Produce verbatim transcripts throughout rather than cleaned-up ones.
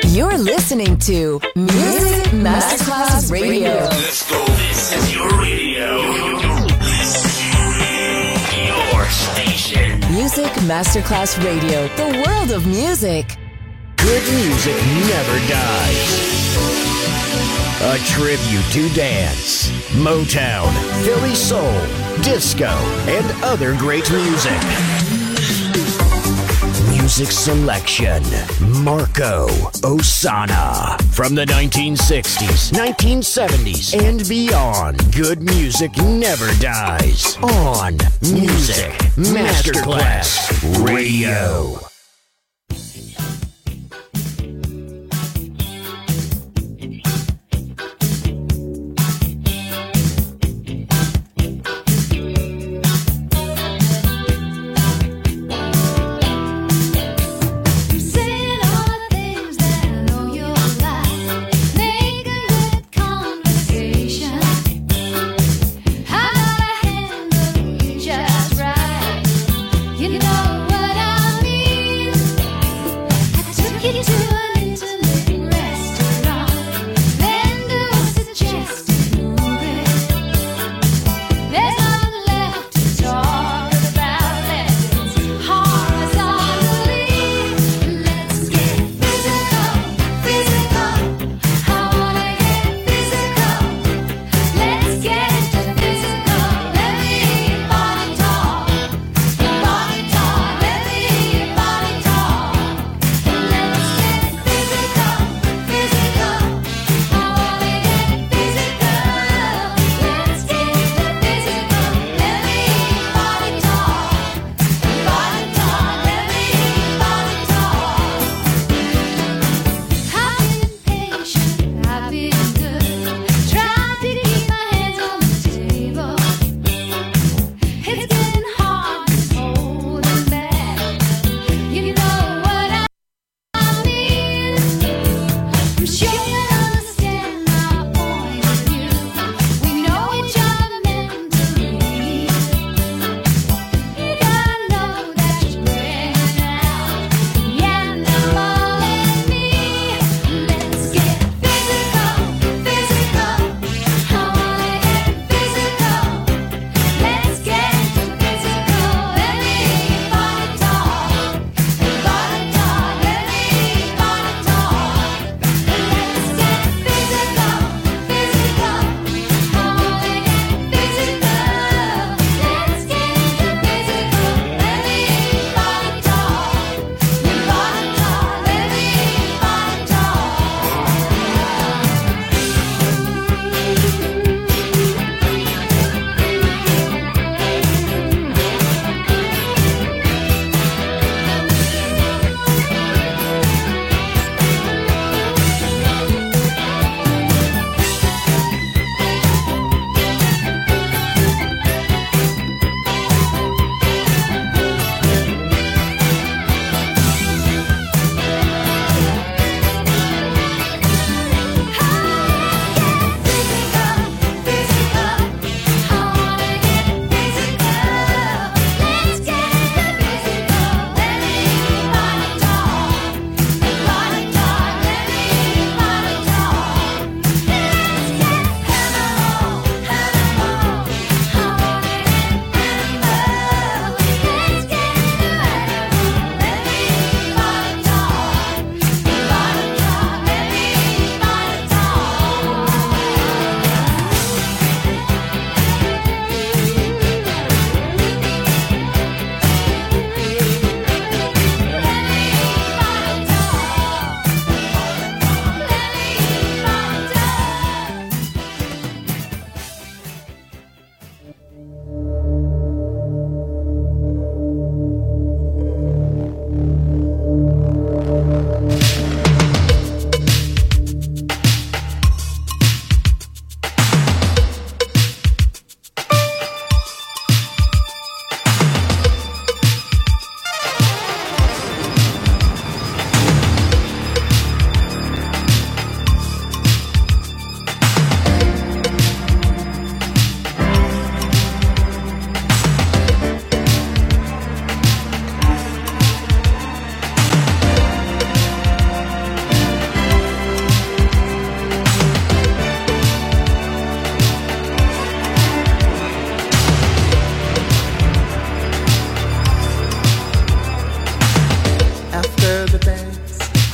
You're listening to Music Masterclass Radio. Let's go. This is your radio. Your station. Music Masterclass Radio. The world of music. Good music never dies. A tribute to dance, Motown, Philly soul, disco, and other great music. Music selection, Marco Ossanna. From the nineteen sixties, nineteen seventies, and beyond, good music never dies. On Music Masterclass Radio. You know what I mean?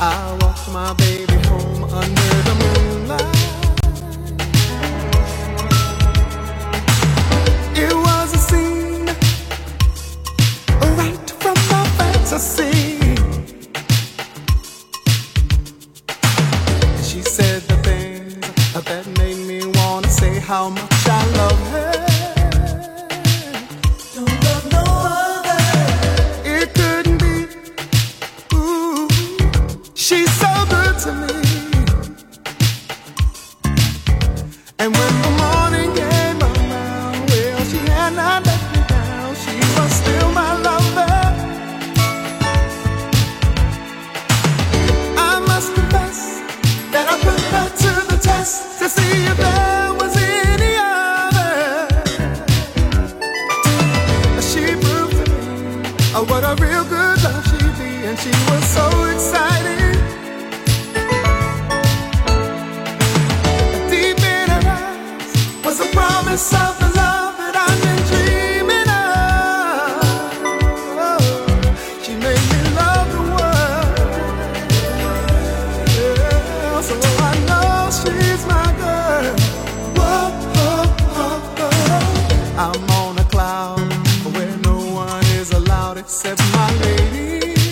I walked my baby home under the moonlight. It was a scene right from my fantasy. She said the things that made me wanna say how much I love her. Don't love no other. It couldn't be. Ooh, she's so good to me. And when the morning came around, well, she had not let me down. She was still my lover. I must confess that I put her to the test to see if there was any other. She proved to me oh, what a real good love she'd be, and she was so excited. Deep in her eyes was a promise of the love that I've been dreaming of. Oh, she made me love the world. Yeah, so I know she's my girl. Whoa, whoa, whoa, whoa. I'm on a cloud where no one is allowed except my lady.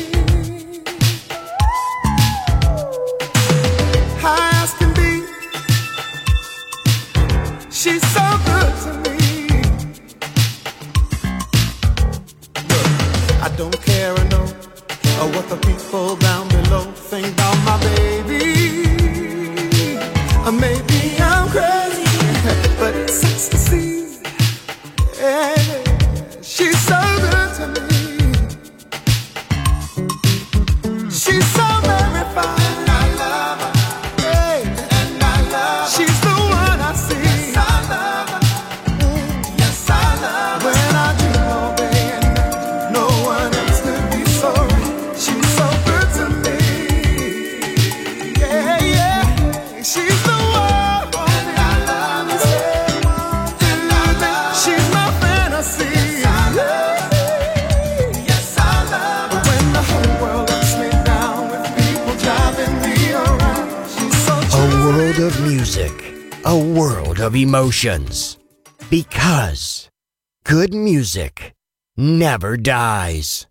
High as can be, she's so good to me. Look, I don't care or know or what the people down below think about my baby. Or maybe I'm crazy, but it's ecstasy. Yeah, she's so good to me. She's so very fine. And I love her. Hey, and I love her. She's the one I see. Yes, I love her. Yes, I love her. When I do all day and night, no one else could be so right. She's so good to me. Yeah, yeah. She's the one. And I love her. And I love her. She's my fantasy. Yes, I love her. Yes, I love her. When the whole world lets me down with people driving me around, she's so A true. world of music, a world of emotions. Because good music never dies.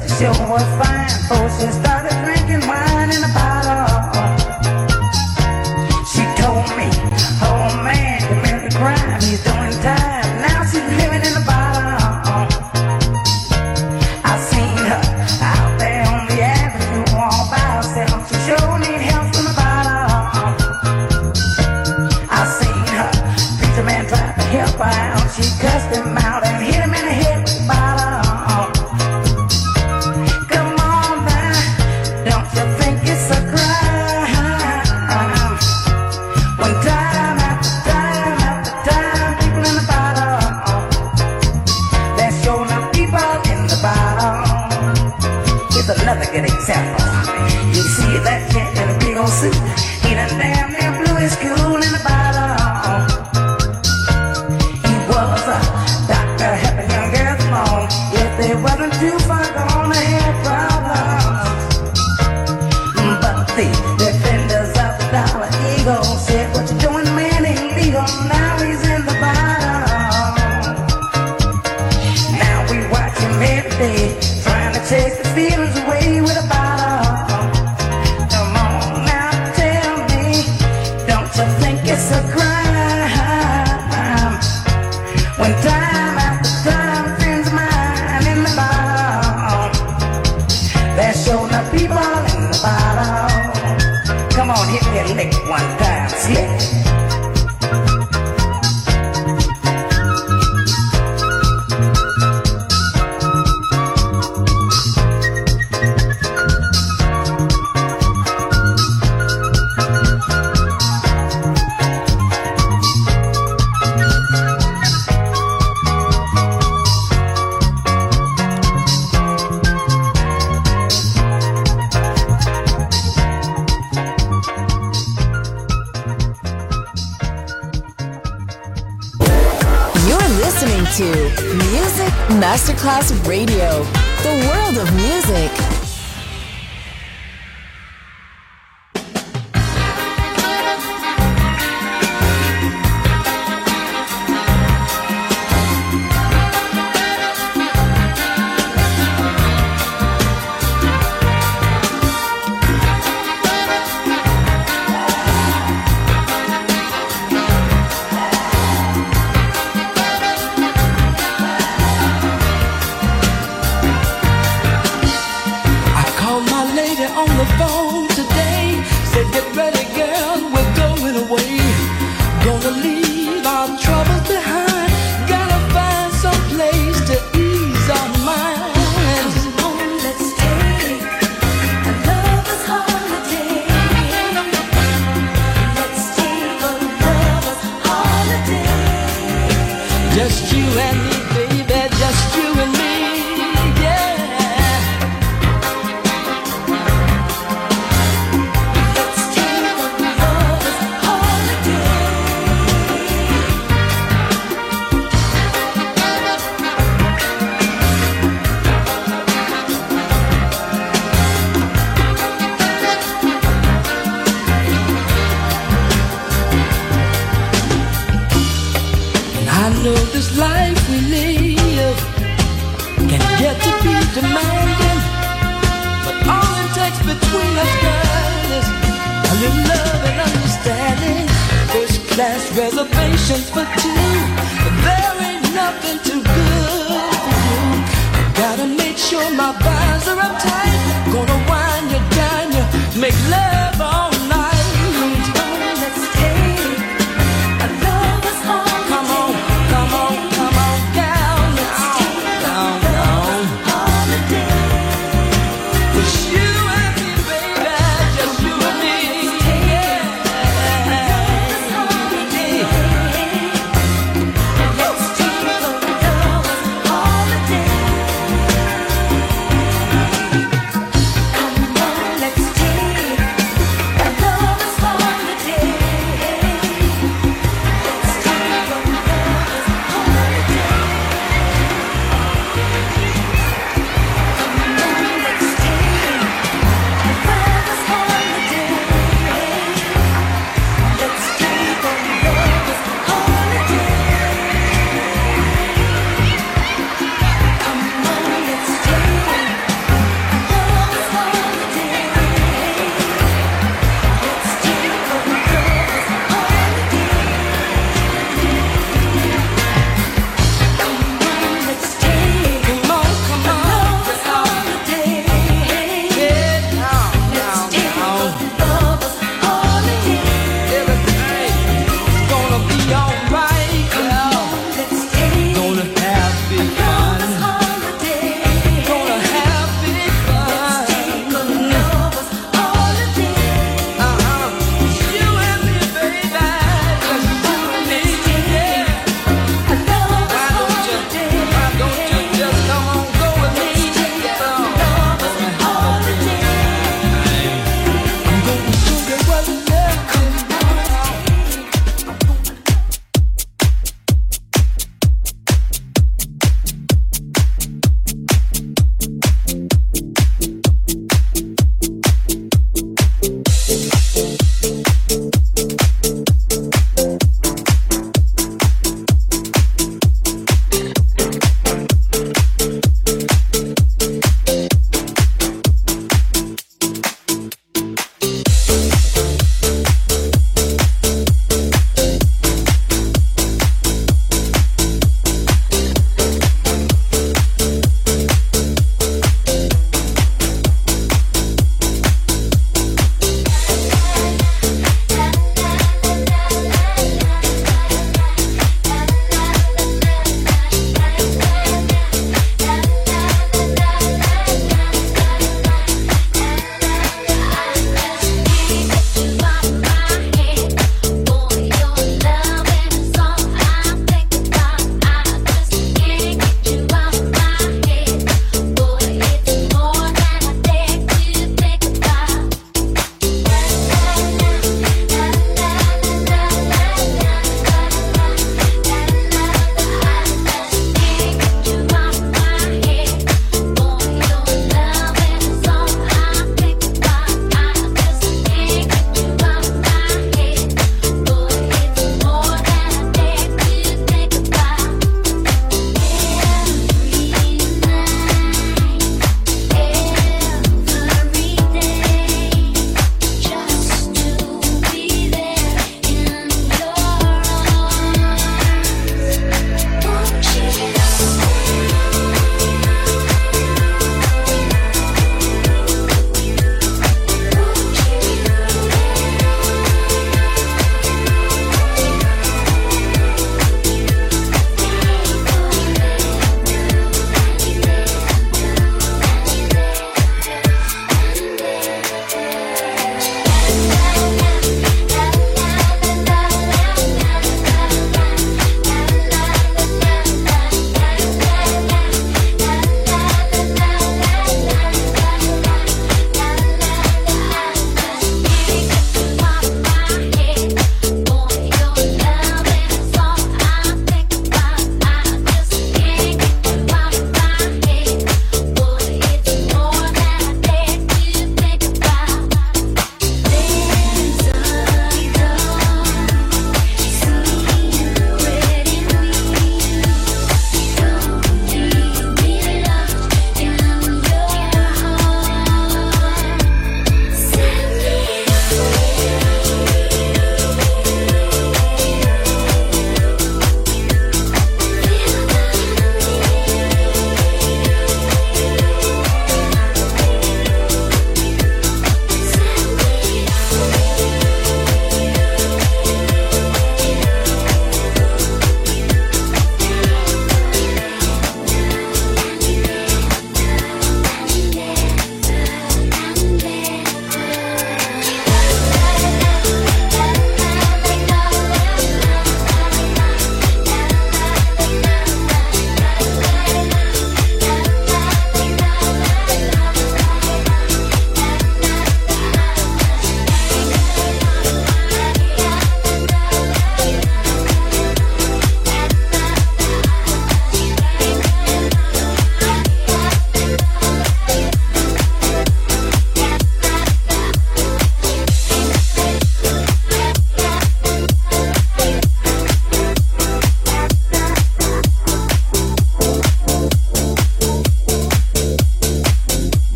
the show was fine. So she started drinking wine in a bottle. She told me, oh man, committed a crime. He's doing time. Now she's living in a bottle. I seen her out there on the avenue all by herself. She sure need help from the bottle. I seen her. Preacher man tried to help her out. She cussed him out and hit him in the head with the bottle. Come on now, don't you think it's a crime? When time after time after time, people in the bottle, they're showing up people in the bottle. Here's another good example. You see that cat in a big old suit, he done damn near blew his cool in the bottle. He was a doctor helping young girls along. If they wasn't too far gone, they had problems. But the defenders of the Dollar Eagle said, what you doing, man, illegal. Now he's in the bottle. Now we watch him every day, trying to chase the feelings away with a bottle. Come on now, tell me, don't you think it's a crime? When time after time, friends of mine in the bottle, they're showing up people in the bottle. Come on, hit me a lick one time, slick. Listening to Music Masterclass Radio, the world of music. Just you and me, baby, just you and me, yeah. Let's take a lover's holiday. And I know this life we live can get to be demanding, but all it takes between us, girl, is a little love and understanding. First class reservations for two, but there ain't nothing too good for you. I gotta make sure my vibes are uptight. Gonna wind you down, you make love all night. Let's take a lover's holiday. Come on, come on, come on down, down, down. Just you and me, baby, just you and me, yeah. Let's take a lover's holiday.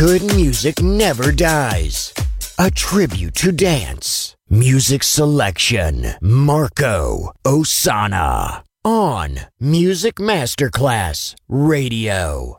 Good music never dies. A tribute to dance. Music selection. Marco Ossanna. On Music Masterclass Radio.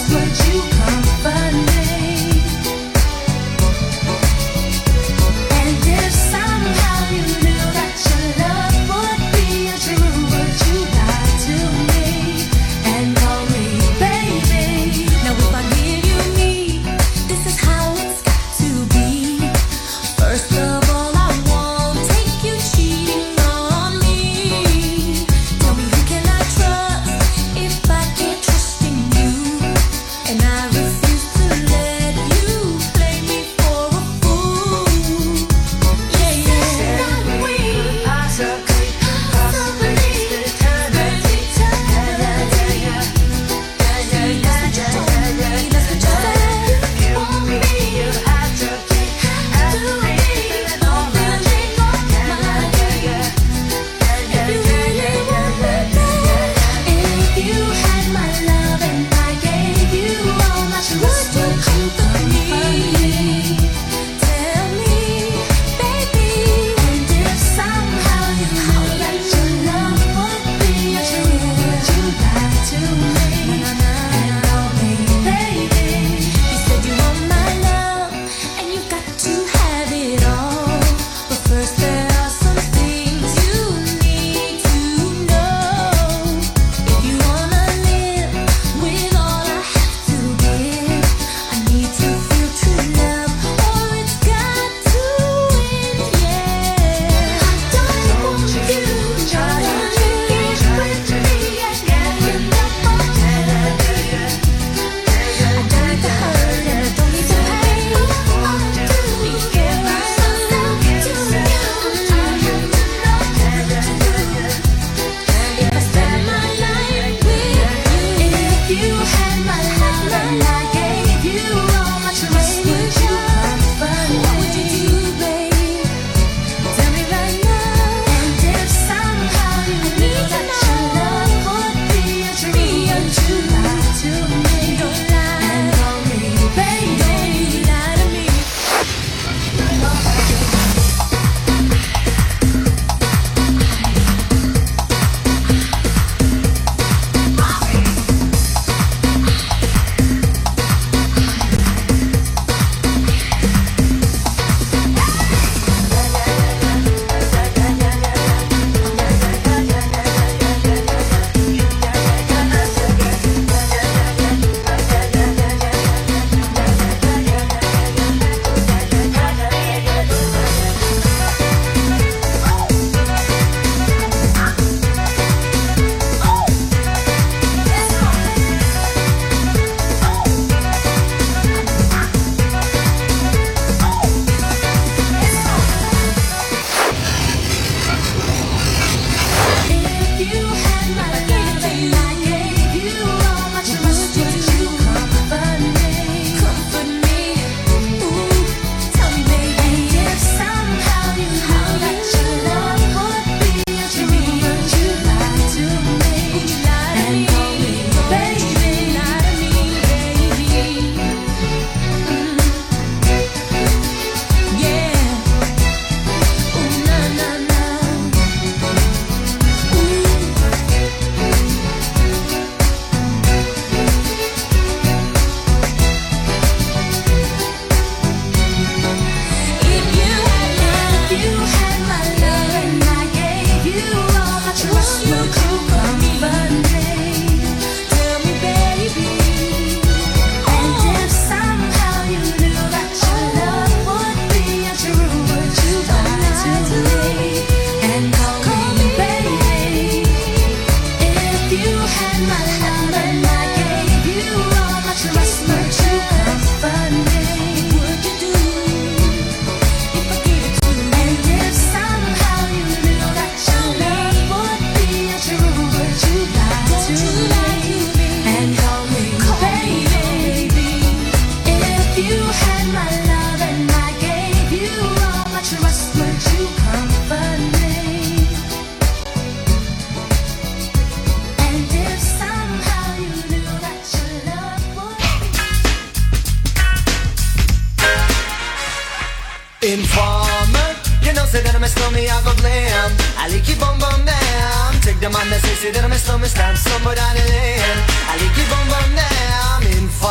Informer, you know say that I'm a stormy, I go blam. I like you bum bum down. Take the man that say say that I'm a stormy, stamp somewhere down the lane. I like you bum bum down. Informer.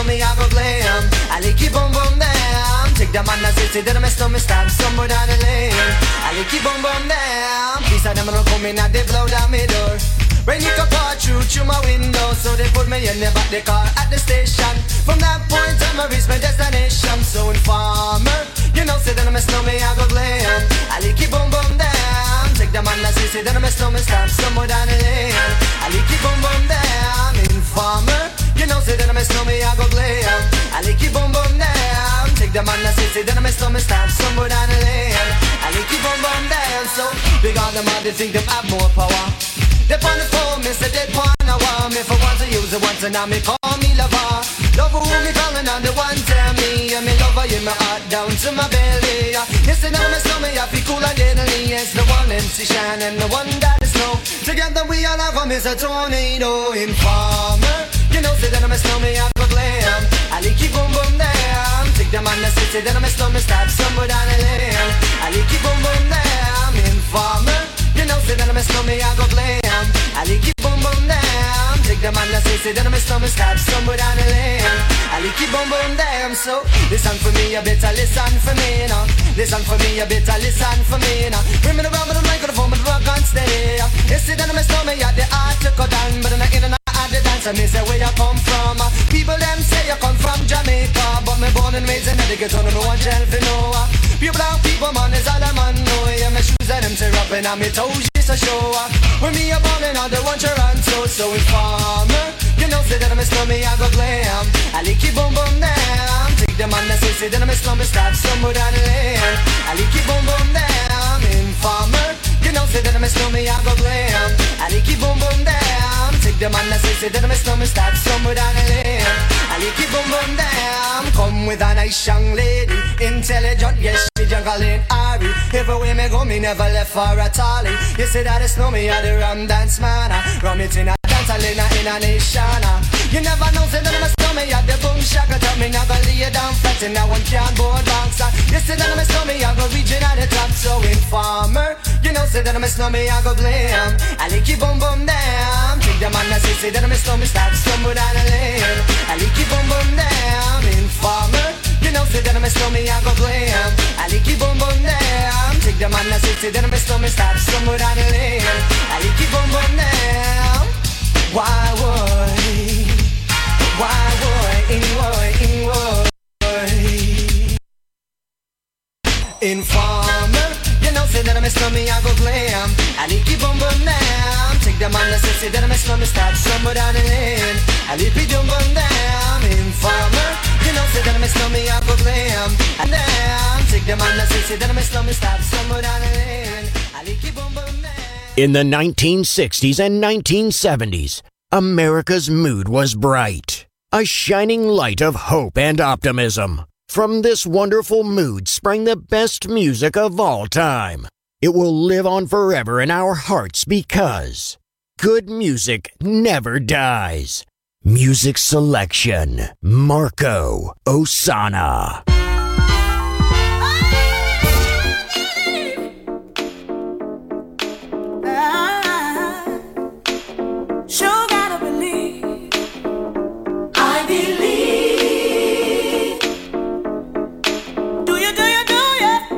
me, I go glam. I like you boom boom down. Take the man that say, say that I messed up, me stab somewhere down the lane. I like you boom boom down. Piece of them don't come in and they blow down my door. Rain you can pour through through my window, so they put me in the back the car at the station. From that point on, I reach my destination. So informer, you know, say that I messed up, me, I go glam. I like you boom boom down. Take the man that say, say that I messed up, me stab somewhere down the lane. I like you boom boom down. Informer, you know, say that I messed up, me, I go glam. I like you boom boom down. Take the man that say, say that I messed up, me stab somewhere down the lane. I like you boom boom down. So big on them all, they think them have more power. They on the phone, me say they want a war. Me for once I use it once and now me call me lover. Lover who me calling on the one tell me. And me lover in my heart down to my belly. Yes, and now me stomach I feel cool and deadly. Yes, the one M C Shine and the one that is snow. Together we all have a miss a tornado. Informer, you know say that I'm a snowman, I go glam. I like you boom boom down. Take the man that say, say that I'm a snowman, stab somewhere down the lane. I like you boom boom down. Informer, you know say that I'm a snowman, I go glam. I like you boom boom down. Take the man that say, say that I'm a snowman, stab somewhere down the lane. I like you boom boom down. So listen for me, you better listen for me now. Listen for me, you better listen for me now. Bring me around with the microphone, but rock and stay. You say that I'm a snowman, you the art to go down, but I'm not in and out the dance. And me say where you come from. People them say you come from Jamaica, but me born and raised in Connecticut, so no one tell for no. Pure black people, man, is all a man know. Yeah, my shoes and them tear up and on me toes just a show. When me a ballin', I don't want your answer. So informer, you know say that I'm a slummy, I go glam. I like you boom boom down. Take the man that say, say that I'm a slummy, start somewhere down the lane. I like you boom boom down. Informer, you know say that I'm a slummy, I go glam. I like you boom boom down. Take the man that say, say that I'm a slummy, start somewhere down the lane. I like you boom boom down. Come with a nice young lady, intelligent, yes, she jungle in Ari. Everywhere me go, me never left for a tally. You say that it's no me, I the rum dance man. Rum it in a dance, I in a, in a nation. You never know, say that I'm a stomach, I the boom shaka. Tell me never lay you down flat in that one can't board bounce. You say that I'm a stomach, I go reaching at the top. So informer, you know, say that I'm a stomach, I go blame. I like you boom boom down. Take the man that say, say that I'm a stomach, start somewhere down the lane. I like you boom boom down. Informer, you know, say that I'm a stomach, I go blame. I like you boom boom down. Take the man that say, say that I'm a stomach, start somewhere down the lane. I like you boom boom down. Why would, why would, in would, in would. Informer, you know, say that I'm a stomach, I go glam. I like you boom boom down. Take the man that say, say that I'm a stomach, start somewhere down the lane. I like you boom boom down. Informer, you know, say that I'm a stomach, I go glam. And down, take the man that say, say that I'm a stomach, start somewhere down the lane. I like you boom boom down. In the nineteen sixties and nineteen seventies, America's mood was bright, a shining light of hope and optimism. From this wonderful mood sprang the best music of all time. It will live on forever in our hearts because good music never dies. Music selection, Marco Ossanna. Sure gotta believe, I believe. Do you, do you, do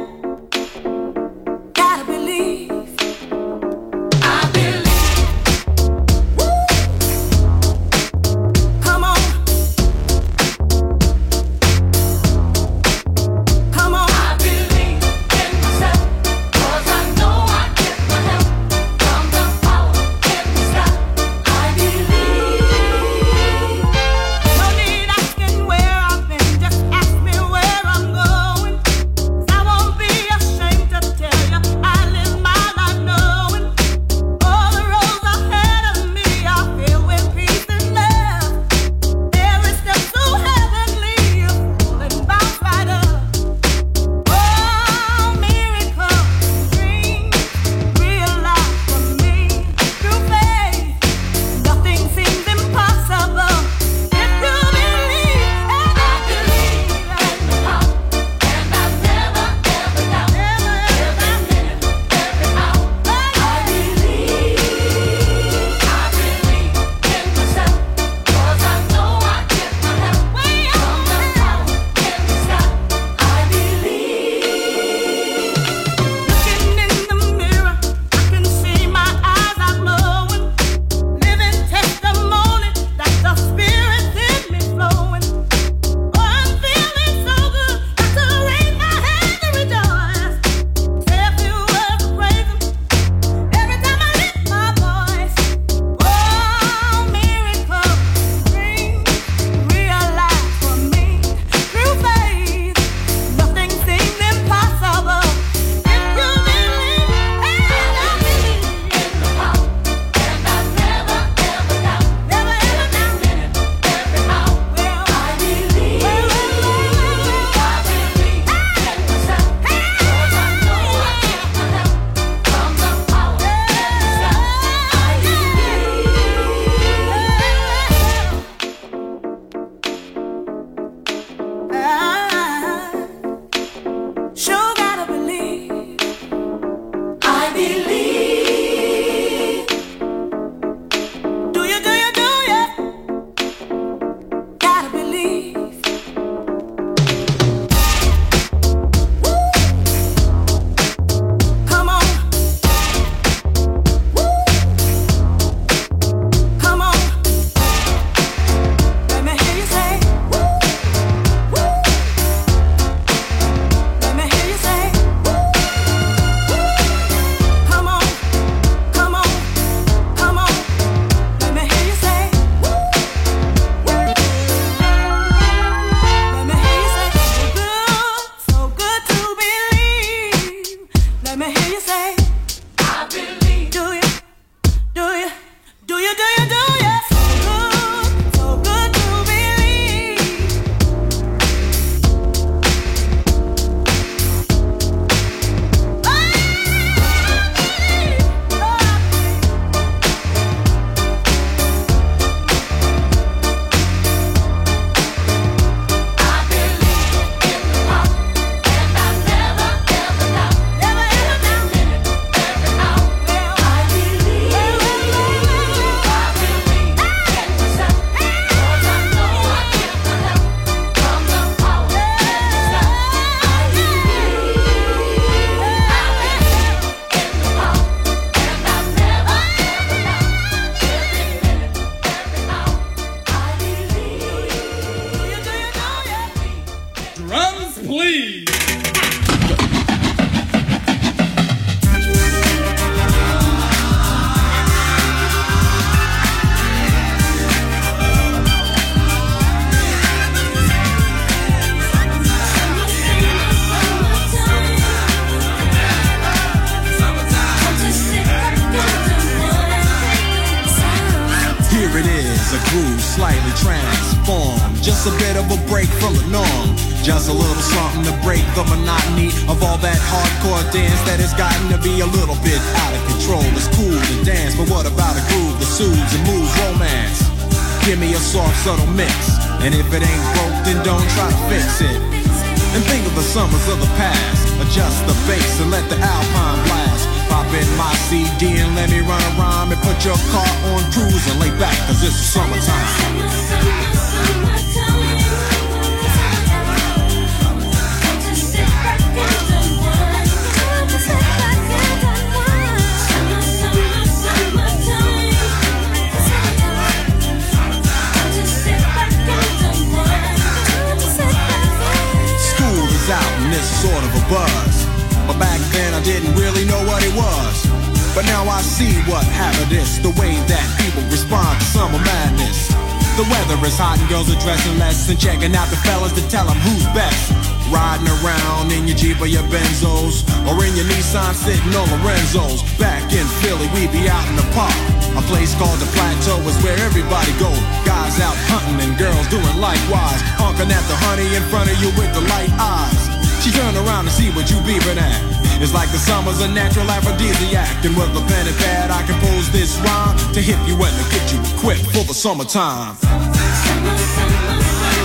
you? Gotta believe, I believe. Woo. Come on, come on. I believe in myself, 'cause I know I get my help from the power in the sky. I believe. No need please. Here it is, a groove slightly transformed. Just a bit of a break from the norm. Just a little something to break the monotony of all that hardcore dance that has gotten to be a little bit out of control. It's cool to dance, but what about a groove that soothes and moves romance? Give me a soft, subtle mix, and if it ain't broke, then don't try to fix it. And think of the summers of the past. Adjust the bass and let the alpine blast. Pop in my C D and let me run a rhyme and put your car on cruise and lay back, cause it's the summertime. School is out and it's sort of a buzz, but back then I didn't really know what it was. But now I see what happened is the way that people respond to summer madness. The weather is hot and girls are dressing less and checking out the fellas to tell them who's best. Riding around in your Jeep or your Benzos, or in your Nissan sitting on Lorenzo's. Back in Philly, we be out in the park. A place called the Plateau is where everybody go. Guys out hunting and girls doing likewise. Honking at the honey in front of you with the light eyes. She turned around to see what you beeping at. It's like the summer's a natural aphrodisiac. And with a pen and pad I compose this rhyme to hit you and to get you equipped for the summertime. Summer, summer,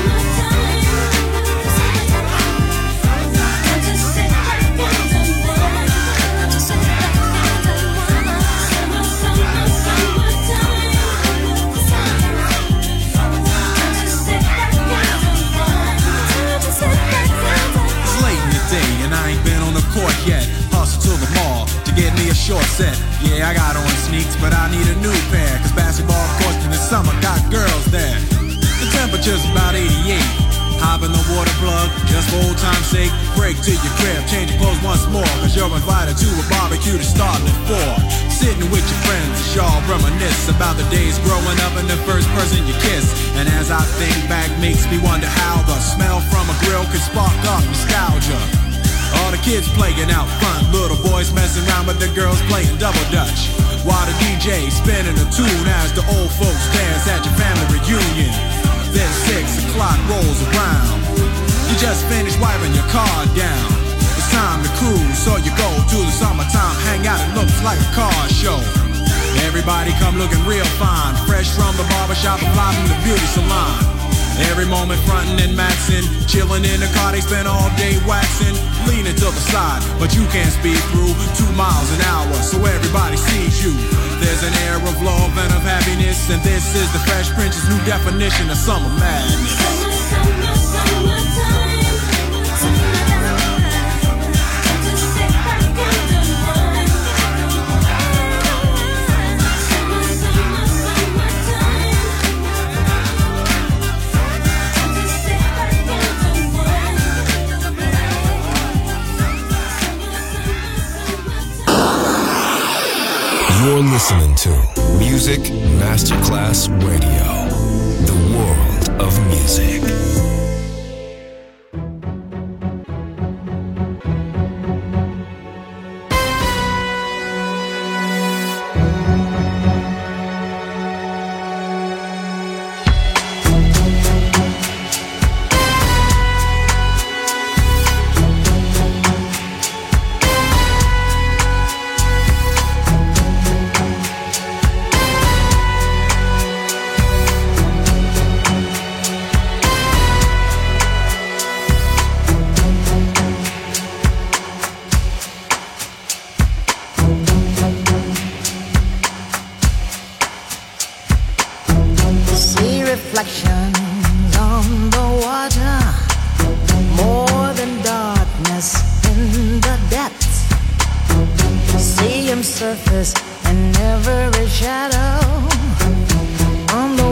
court yet, hustle to the mall to get me a short set. Yeah, I got on sneaks, but I need a new pair, cause basketball courts in the summer got girls there. The temperature's about eighty-eight. Hop in the water plug, just for old time's sake. Break to your crib, change your clothes once more, cause you're invited to a barbecue to start at four. Sitting with your friends, y'all reminisce about the days growing up and the first person you kiss. And as I think back, makes me wonder how the smell from a grill could spark up nostalgia. All the kids playing out front, little boys messing around with the girls playing double dutch, while the D J spinning a tune as the old folks dance at your family reunion. Then six o'clock rolls around, you just finished wiping your car down. It's time to cruise, so you go to the summertime hangout. It looks like a car show. Everybody come looking real fine, fresh from the barbershop and fly from the beauty salon. Every moment frontin' and maxin', chillin' in the car, they spend all day waxin', leanin' to the side, but you can't speed through two miles an hour, so everybody sees you. There's an air of love and of happiness, and this is the Fresh Prince's new definition of summer madness. Summer, summer, summertime. You're listening to Music Masterclass Radio, the world of music.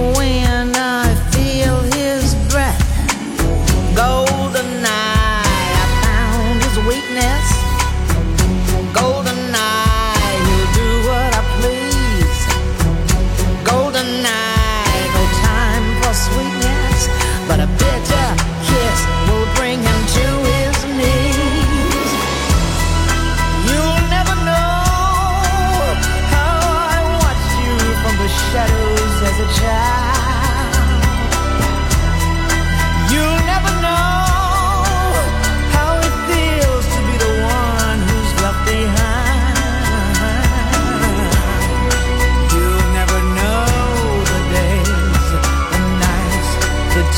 Golden eyes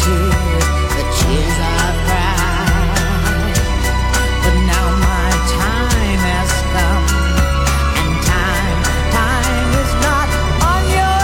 tears, the tears I've cried. But now my time has come, and time, time is not on your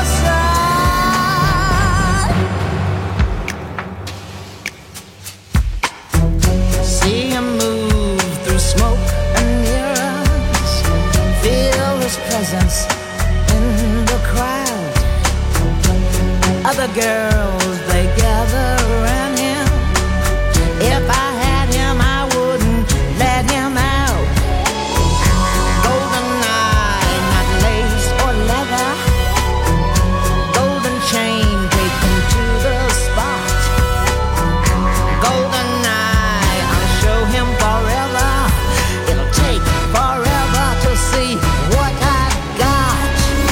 side. See him move through smoke and mirrors, feel his presence in the crowd. Other girls, they gather around him. If I had him, I wouldn't let him out. Golden eye, not lace or leather. Golden chain, take him to the spot. Golden eye, I'll show him forever. It'll take forever to see what I've got.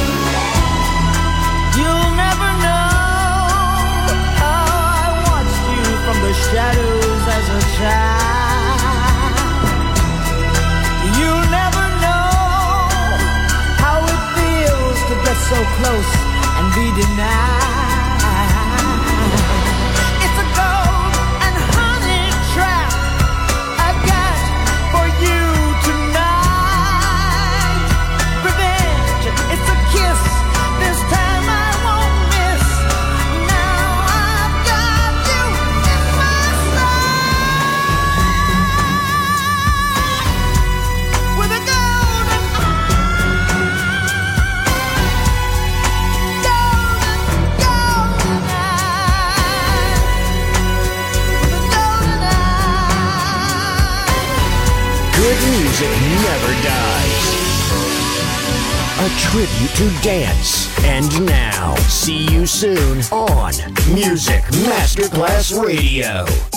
You'll never know how I watched you from the shadows as a child. You'll never know how it feels to get so close and be denied. It's a gold and honey trap I've got for you tonight. Revenge, it's a kiss. This time I won't miss. Now I've got you in my sight. With a golden eye. Golden, golden eye. With a golden eye. Good music never dies. A tribute to dance. And now, see you soon on Music Masterclass Radio.